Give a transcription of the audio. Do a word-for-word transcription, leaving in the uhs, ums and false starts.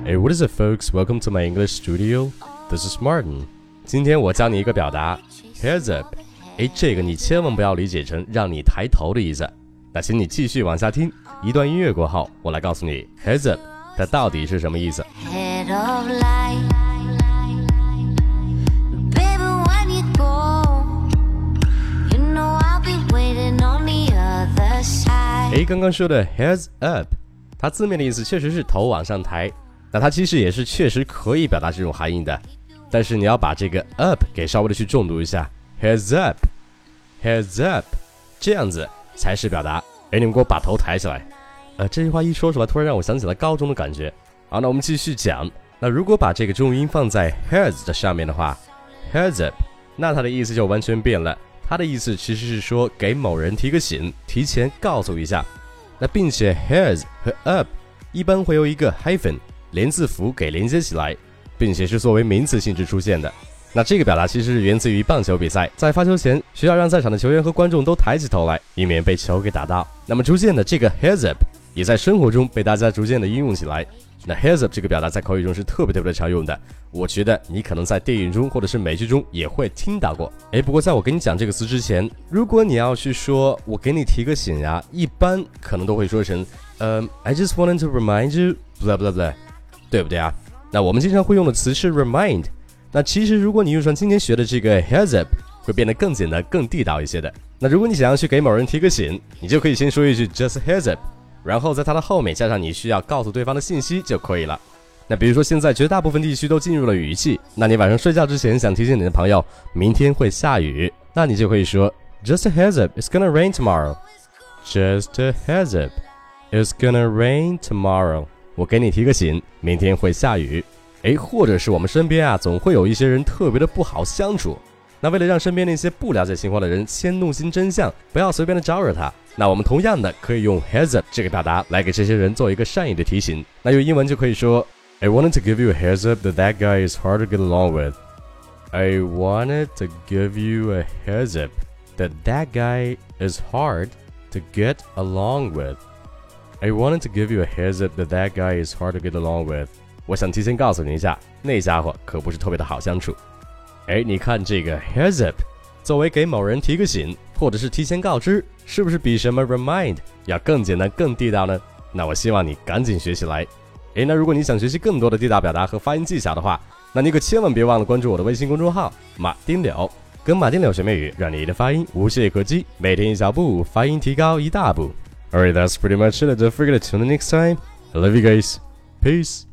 Hey, what is it, folks? Welcome to my English studio. This is Martin. 今天我教你一个表达 ，heads up。哎，这个你千万不要理解成让你抬头的意思。那请你继续往下听，一段音乐过后，我来告诉你 heads up 它到底是什么意思。Head of light, baby, when you go, you know I'll be waiting on the other side. 哎，刚刚说的 heads up， 它字面的意思确实是头往上抬。那它其实也是确实可以表达这种含义的，但是你要把这个 up 给稍微的去重读一下 ，heads up， heads up， 这样子才是表达。哎，你们给我把头抬起来。呃，这句话一说出来，突然让我想起了高中的感觉。好，那我们继续讲。那如果把这个重音放在 heads 的上面的话 ，heads up， 那它的意思就完全变了。它的意思其实是说给某人提个醒，提前告诉一下。那并且 heads 和 up 一般会有一个 hyphen。连字符给连接起来，并且是作为名词性质出现的。那这个表达其实是源自于棒球比赛，在发球前需要让在场的球员和观众都抬起头来，以免被球给打到。那么逐渐的这个 heads up 也在生活中被大家逐渐的应用起来。那 heads up 这个表达在口语中是特别特别的常用的，我觉得你可能在电影中或者是美剧中也会听到过。诶，不过在我跟你讲这个词之前，如果你要去说我给你提个醒呀，一般可能都会说成嗯、um, I just wanted to remind you blah blah blah，对不对啊？那我们经常会用的词是 remind。那其实如果你用上今天学的这个 heads up， 会变得更简单、更地道一些的。那如果你想要去给某人提个醒，你就可以先说一句 just heads up， 然后在它的后面加上你需要告诉对方的信息就可以了。那比如说现在绝大部分地区都进入了雨季，那你晚上睡觉之前想提醒你的朋友明天会下雨，那你就可以说 just a heads up, it's gonna rain tomorrow. Just a heads up, it's gonna rain tomorrow.我给你提个醒，明天会下雨。诶，或者是我们身边啊，总会有一些人特别的不好相处。那为了让身边那些不了解情况的人先弄清真相，不要随便的招惹他，那我们同样的可以用 heads up 这个表达来给这些人做一个善意的提醒。那用英文就可以说 I wanted to give you a heads up that that guy is hard to get along with. I wanted to give you a heads up that that guy is hard to get along with.I wanted to give you a heads up that that guy is hard to get along with. 我想提前告诉你一下，那家伙可不是特别的好相处。哎，你看这个 heads up， 作为给某人提个醒，或者是提前告知，是不是比什么 remind 要更简单、更地道呢？那我希望你赶紧学起来。哎，那如果你想学习更多的地道表达和发音技巧的话，那你可千万别忘了关注我的微信公众号马丁柳，跟马丁柳学美语，让你的发音无懈可击，每天一小步，发音提高一大步。Alright, that's pretty much it. Don't forget to tune in next time. I love you guys. Peace.